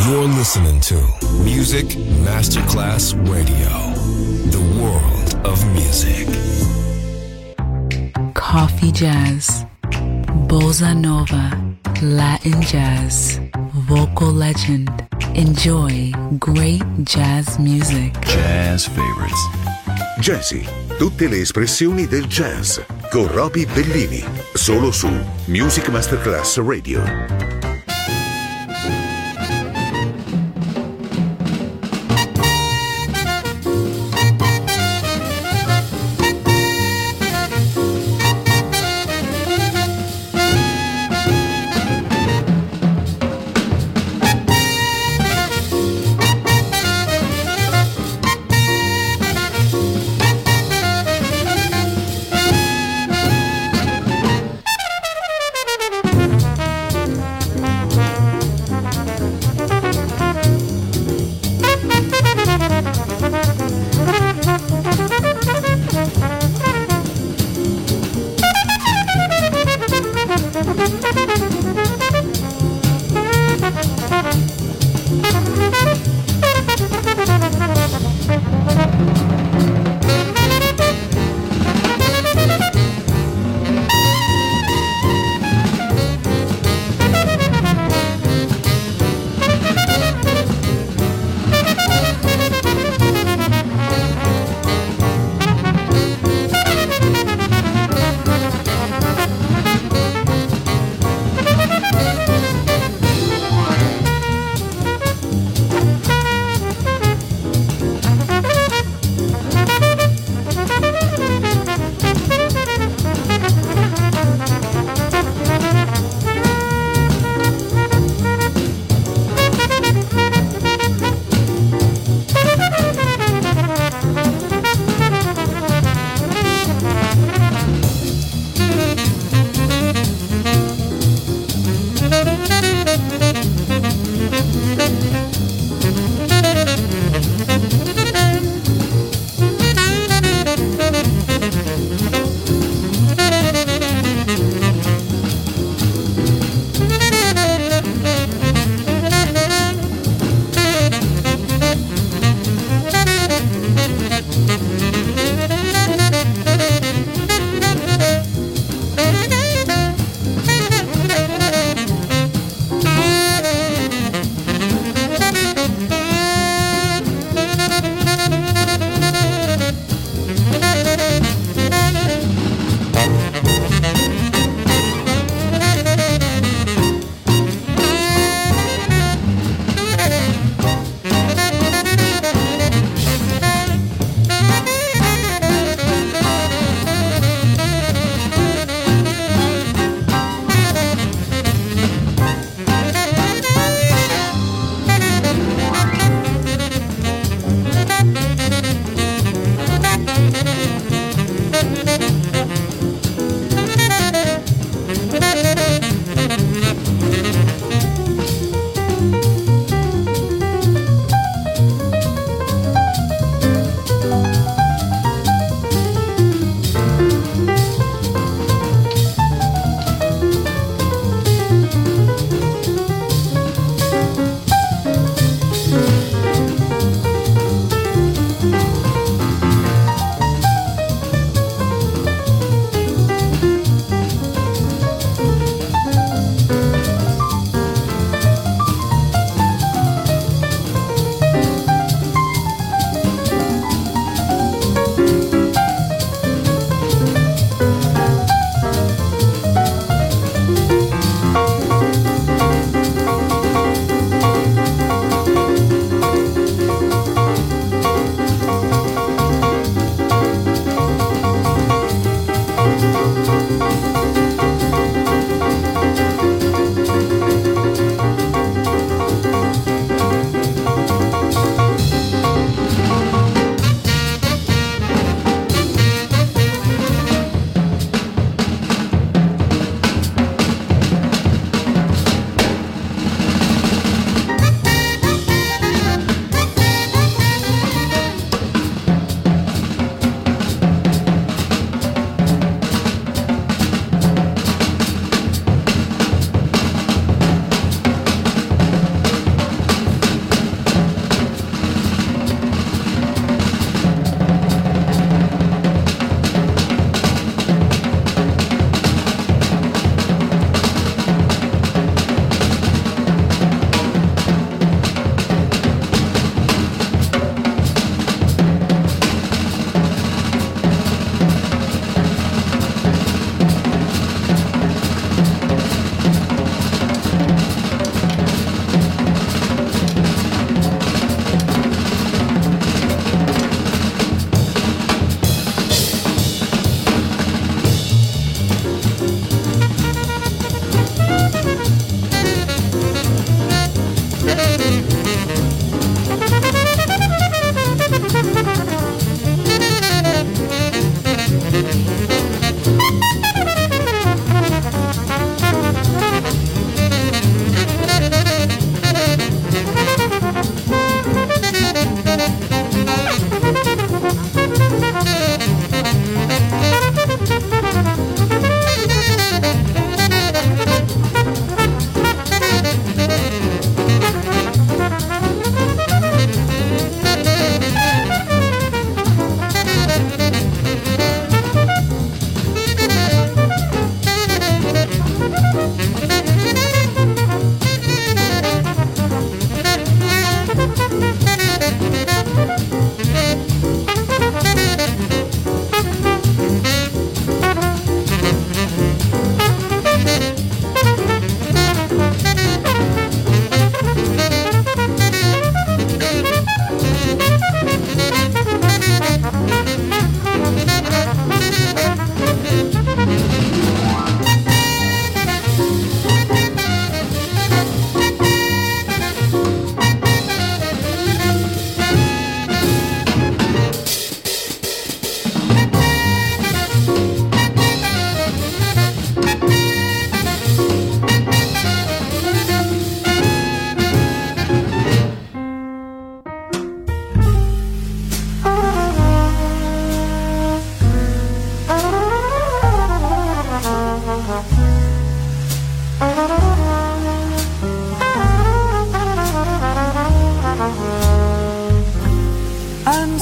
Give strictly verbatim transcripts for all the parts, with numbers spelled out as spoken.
You're listening to Music Masterclass Radio, the world of music. Coffee jazz, bossa nova, Latin jazz, vocal legend. Enjoy great jazz music. Jazz favorites. Jazzy, tutte le espressioni del jazz con Roby Bellini, solo su Music Masterclass Radio.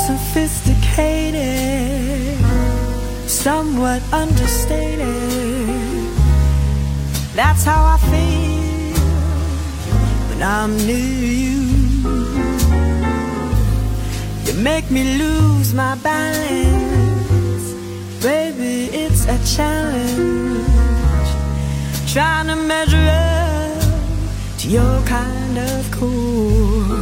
unsophisticated, somewhat understated. That's how I feel when I'm near you. You make me lose my balance, baby, it's a challenge, trying to measure up to your kind of cool.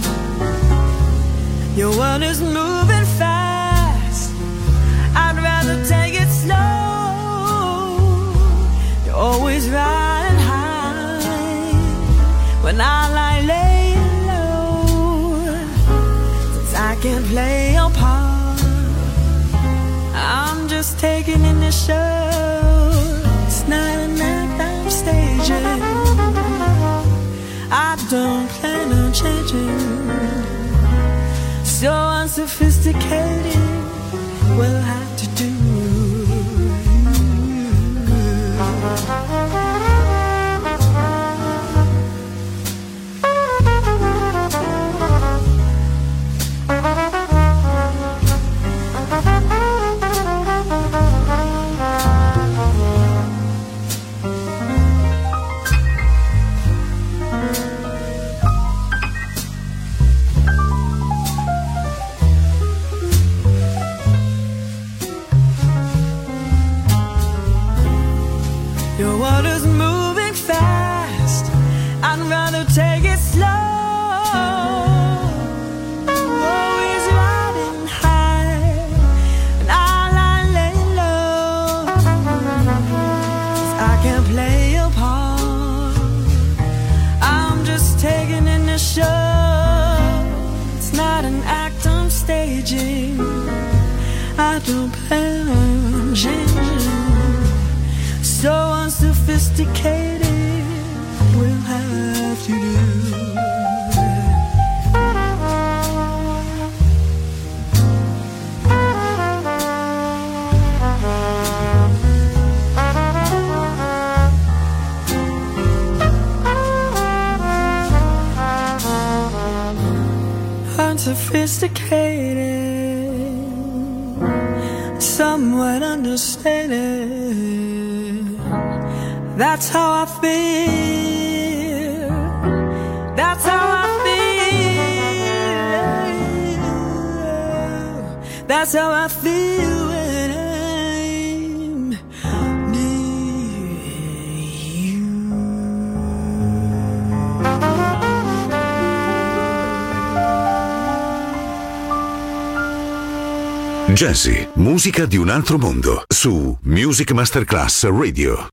Your world is moving fast, I'd rather take it slow. You're always riding high when I lie laying low. Since I can't play your part, I'm just taking in the show. It's not an act I'm staging, I don't plan on changing. So unsophisticated, we'll have to do. Your world is moving fast, I'd rather take it slow. Always riding high, and I lie lay low. 'Cause I can't play your part, I'm just taking in the show. It's not an act I'm staging, I don't plan on changing. So unsophisticated, we'll have to do. Unsophisticated, somewhat understated. That's how I feel. That's how I feel. That's how I feel when I'm near you. Jazzy, musica di un altro mondo, su Music Masterclass Radio.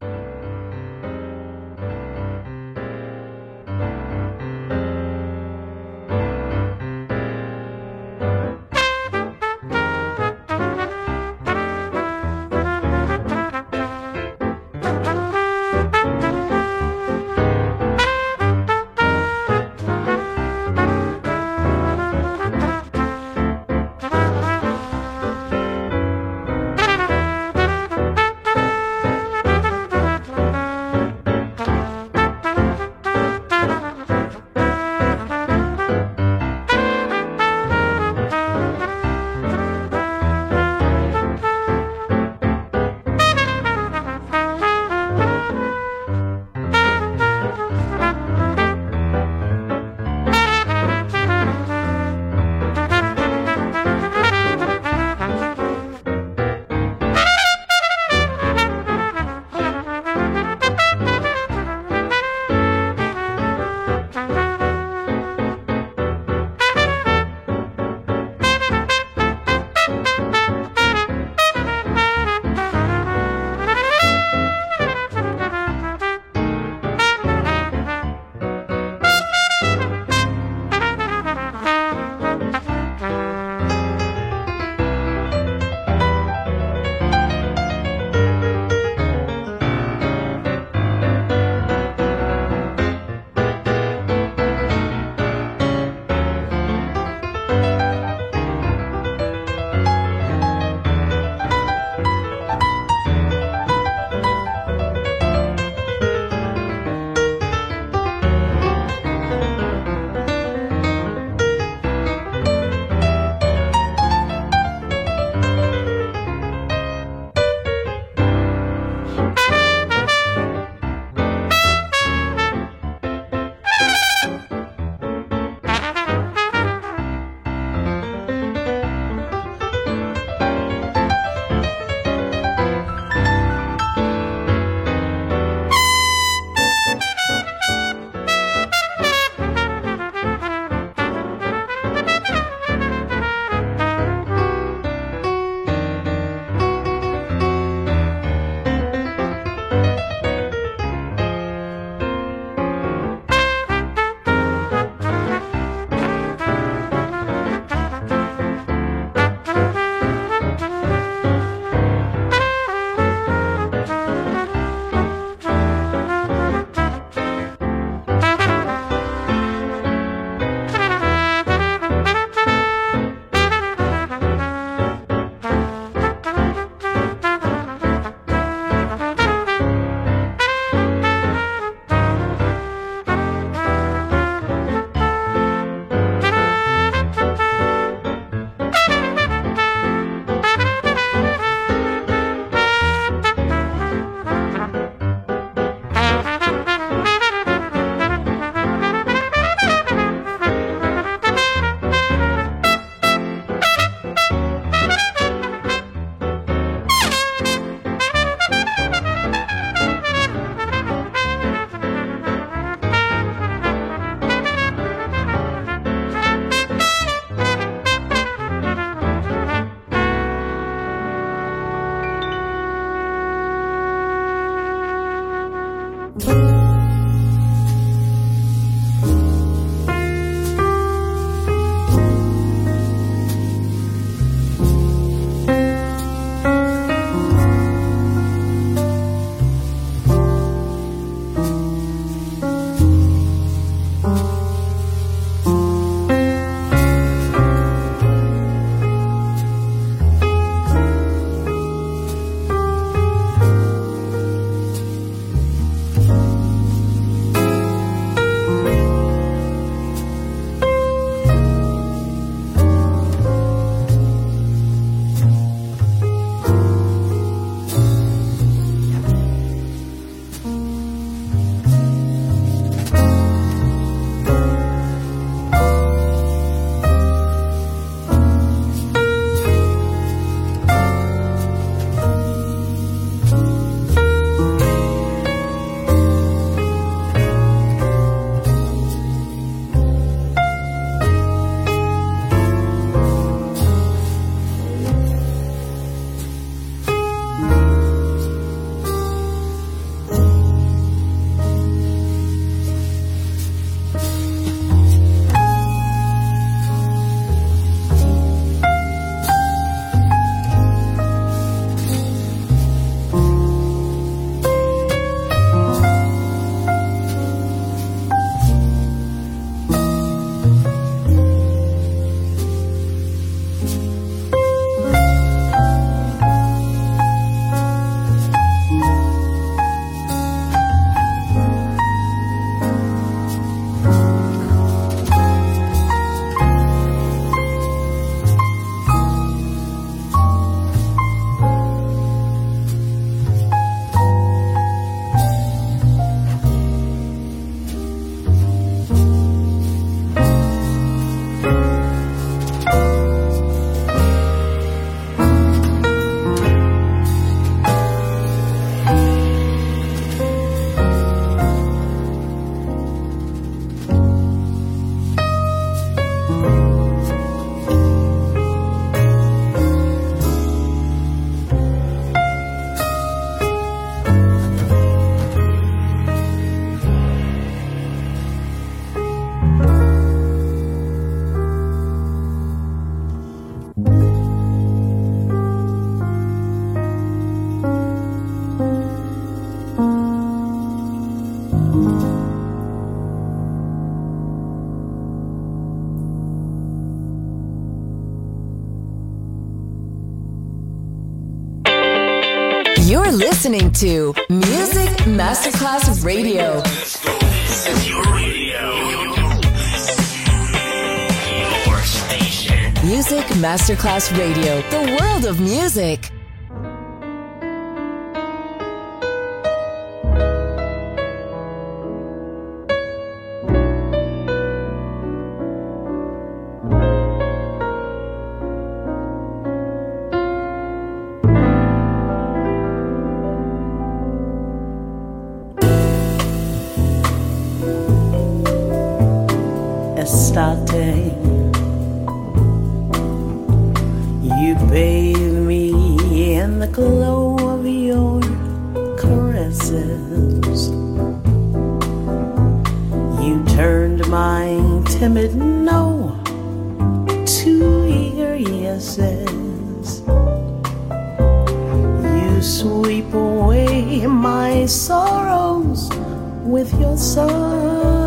listening to Music Masterclass Radio. This is your radio. Your station. Music Masterclass Radio. The world of music. You bathe me in the glow of your caresses. You turned my timid no to eager yeses. You sweep away my sorrows with your sigh.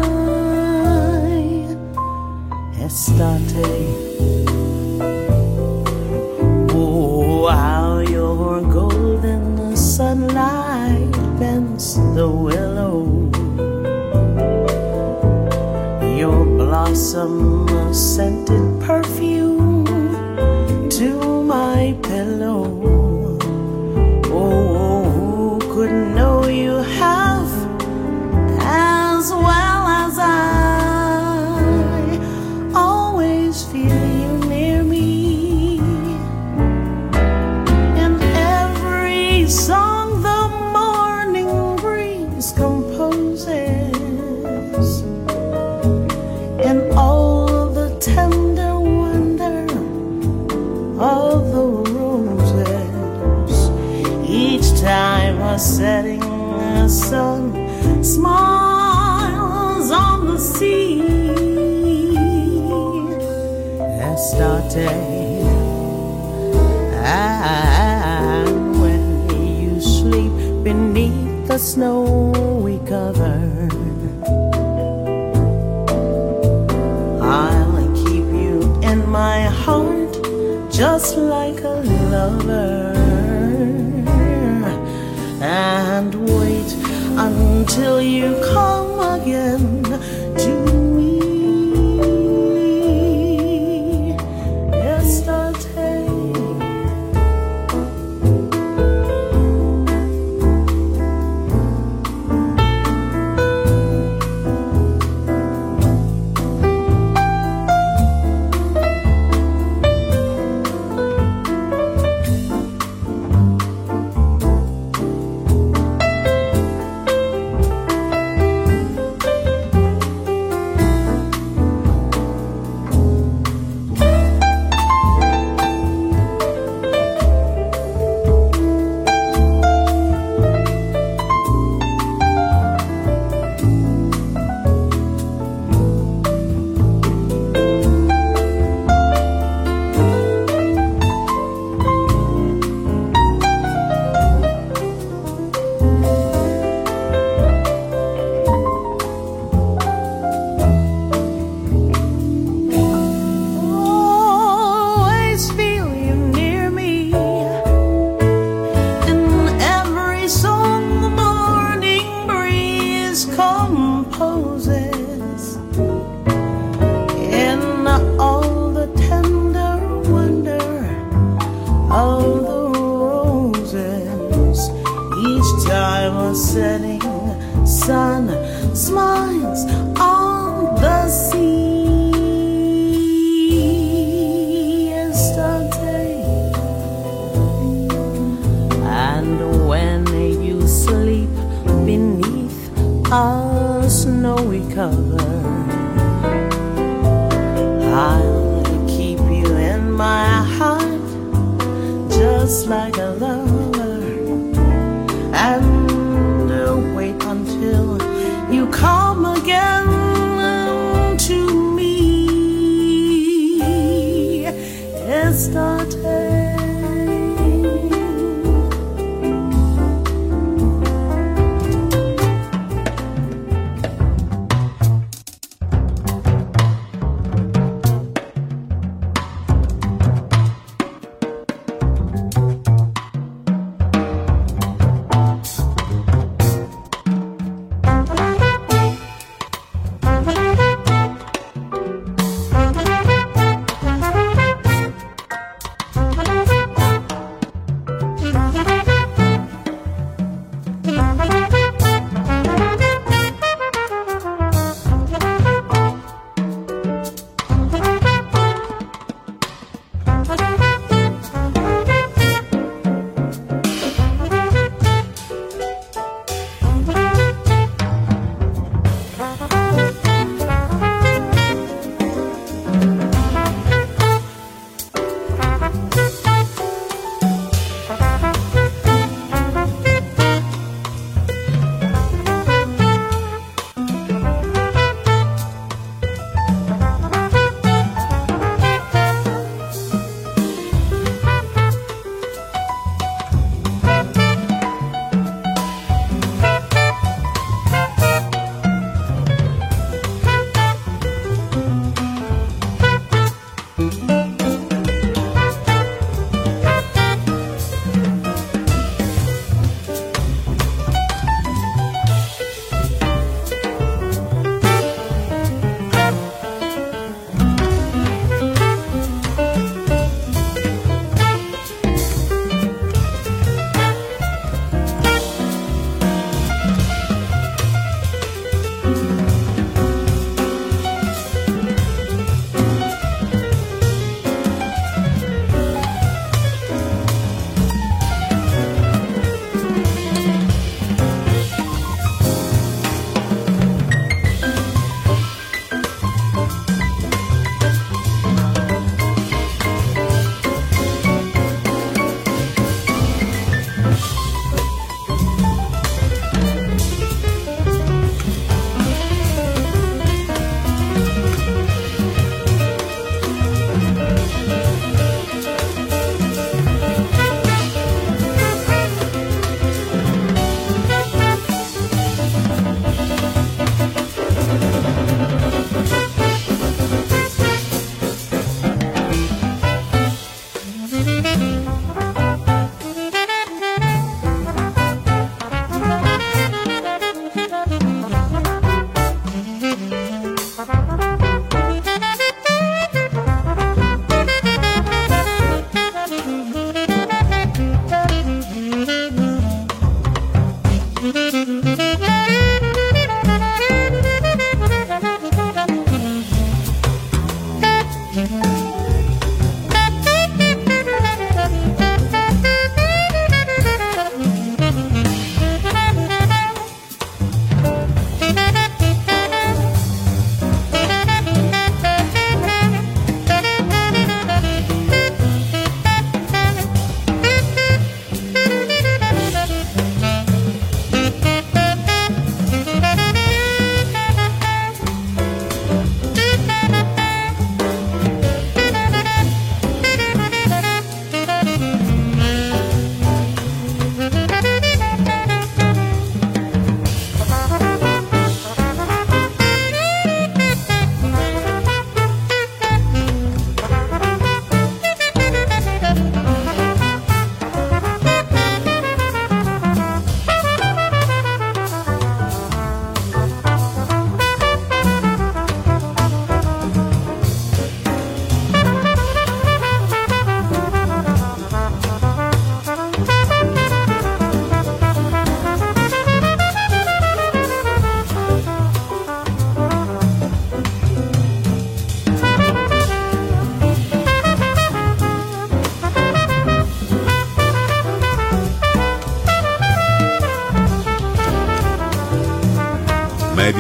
Estate. Oh, how your golden sunlight bends the willow. Your blossom scented perfume to my pillow. Oh, couldn't know you have as well as I. Feel you near me. In every song the morning breeze composes, and all the tender wonder of the roses. Each time a setting sun smiles on the sea. Started, and when you sleep beneath the snowy cover, I'll keep you in my heart just like a lover, and wait until you come again to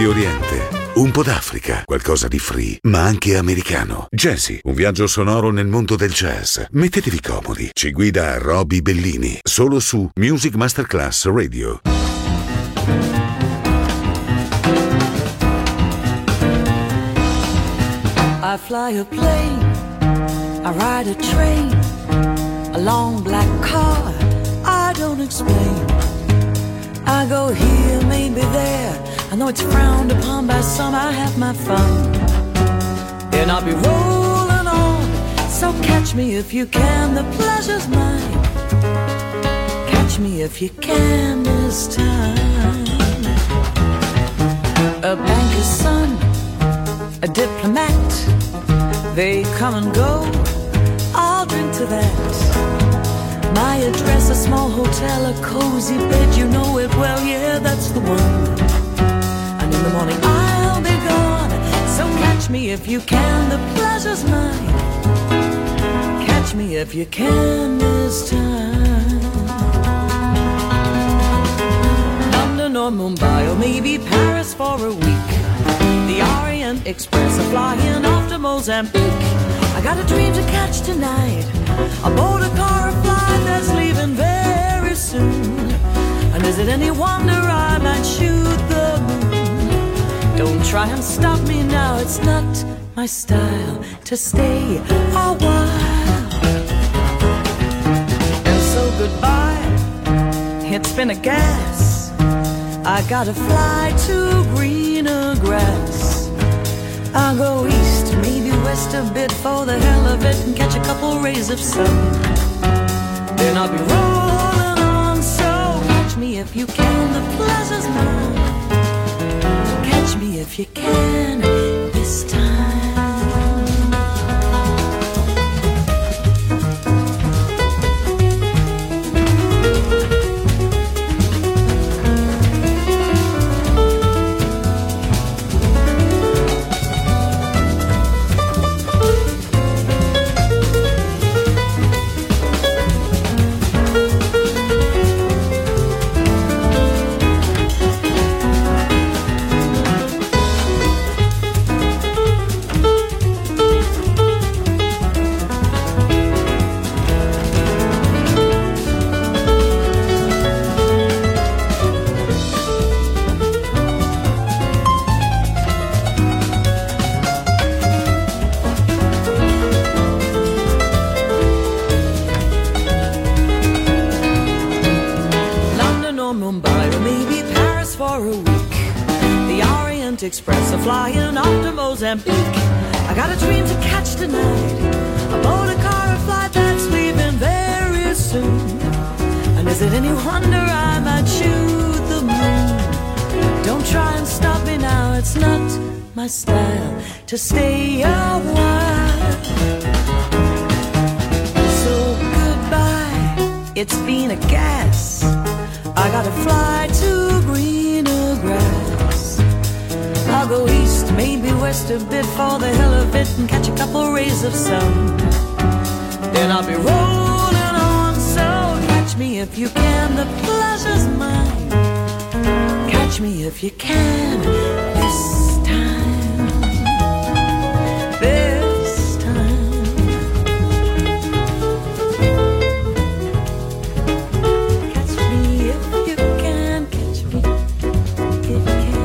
Medio Oriente, un po' d'Africa, qualcosa di free, ma anche americano. Jazzy, un viaggio sonoro nel mondo del jazz. Mettetevi comodi. Ci guida Roby Bellini, solo su Music Masterclass Radio. I fly a plane, I ride a train, a long black car, I don't explain. I go here, maybe there, I know it's frowned upon by some, I have my fun. And I'll be rolling on, so catch me if you can, the pleasure's mine. Catch me if you can this time. A banker's son, a diplomat, they come and go, I'll drink to that. My address, a small hotel, a cozy bed, you know it well, yeah, that's the one. And in the morning I'll be gone, so catch me if you can, the pleasure's mine. Catch me if you can this time. London or Mumbai or maybe Paris for a week. The Orient Express, a flying off to Mozambique. I got a dream to catch tonight, aboard a car or flight that's leaving very soon. And is it any wonder I might shoot the moon? Don't try and stop me now, it's not my style to stay a while. And so goodbye, it's been a gas, I gotta fly to greener grass. I'll go east, maybe west a bit for the hell of it and catch a couple rays of sun. Then I'll be rolling on, so catch me if you can, the pleasure's mine. Catch me if you can this time. Express, a flying off to Mozambique. I got a dream to catch tonight, aboard a car or flight that's leaving very soon. And is it any wonder I might shoot the moon? Don't try and stop me now, it's not my style to stay a while. So goodbye, it's been a gas, I gotta fly to greener grass. I'll go east, maybe west a bit for the hell of it and catch a couple rays of sun. Then I'll be rolling on, so catch me if you can, the pleasure's mine. Catch me if you can this time. This time. Catch me if you can, catch me if you can.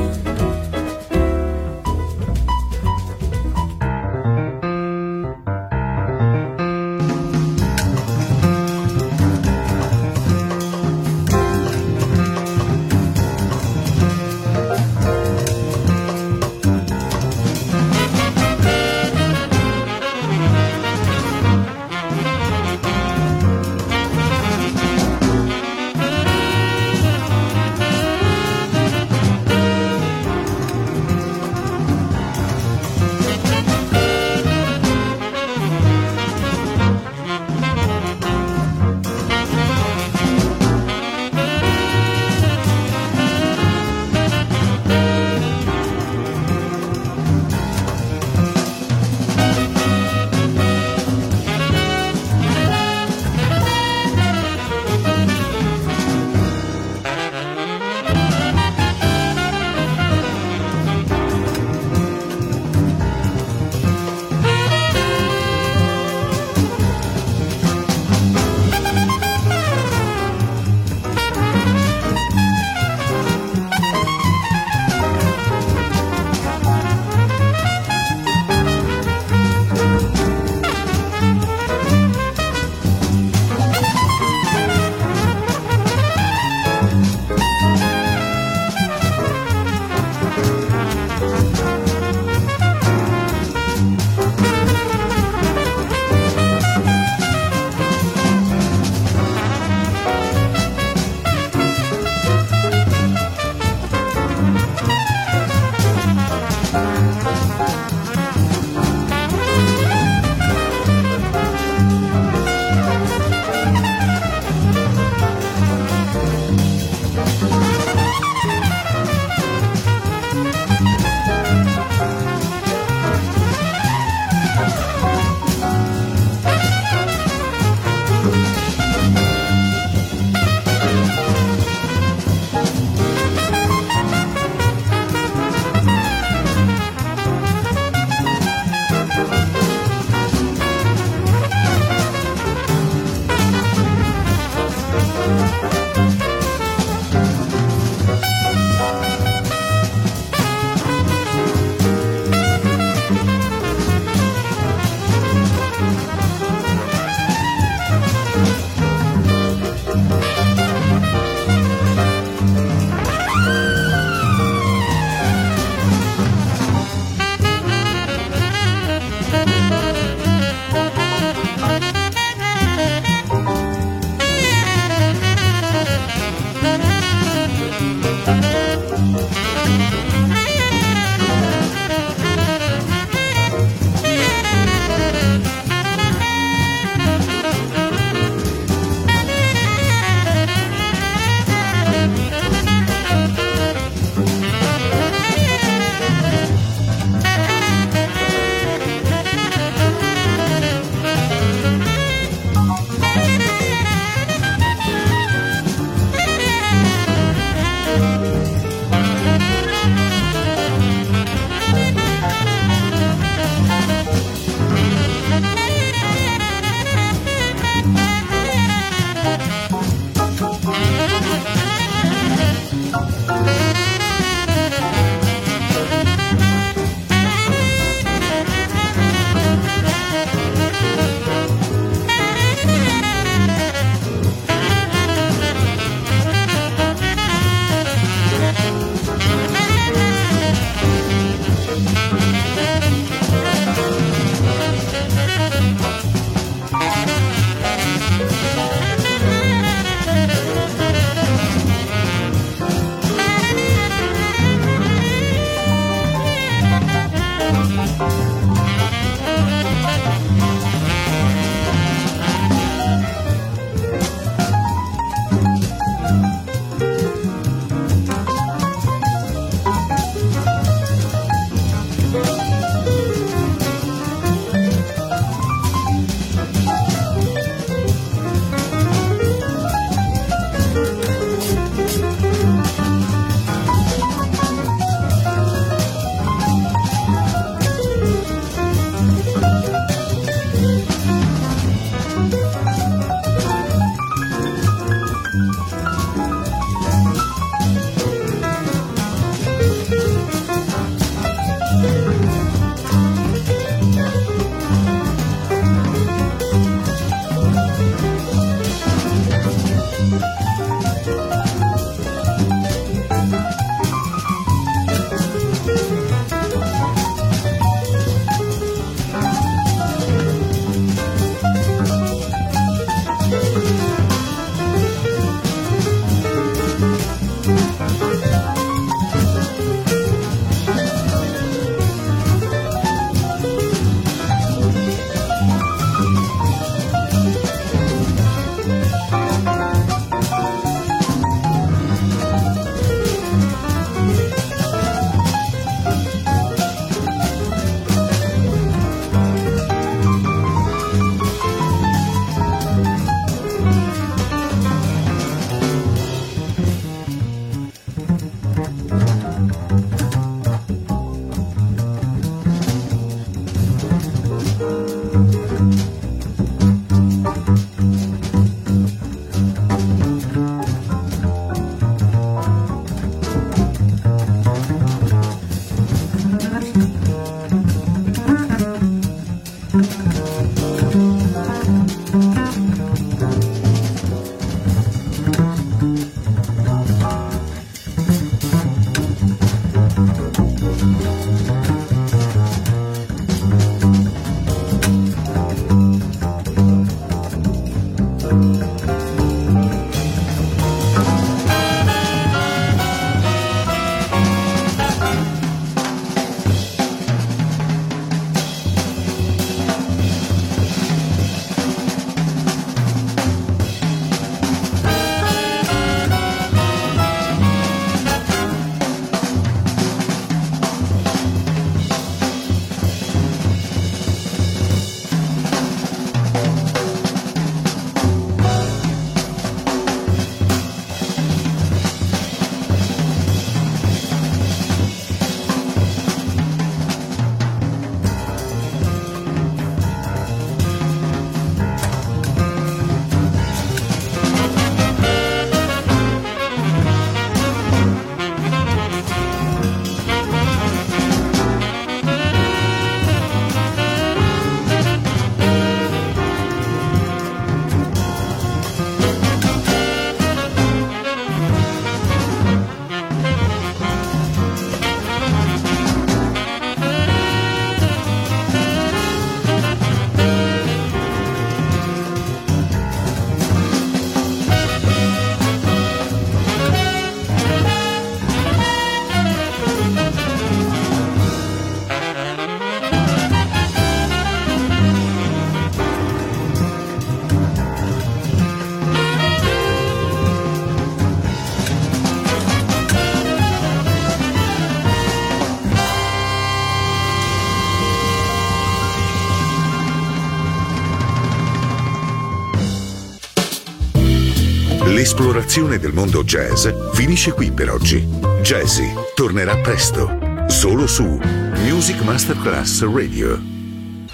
L'esplorazione del mondo jazz finisce qui per oggi. Jazzy tornerà presto, solo su Music Masterclass Radio.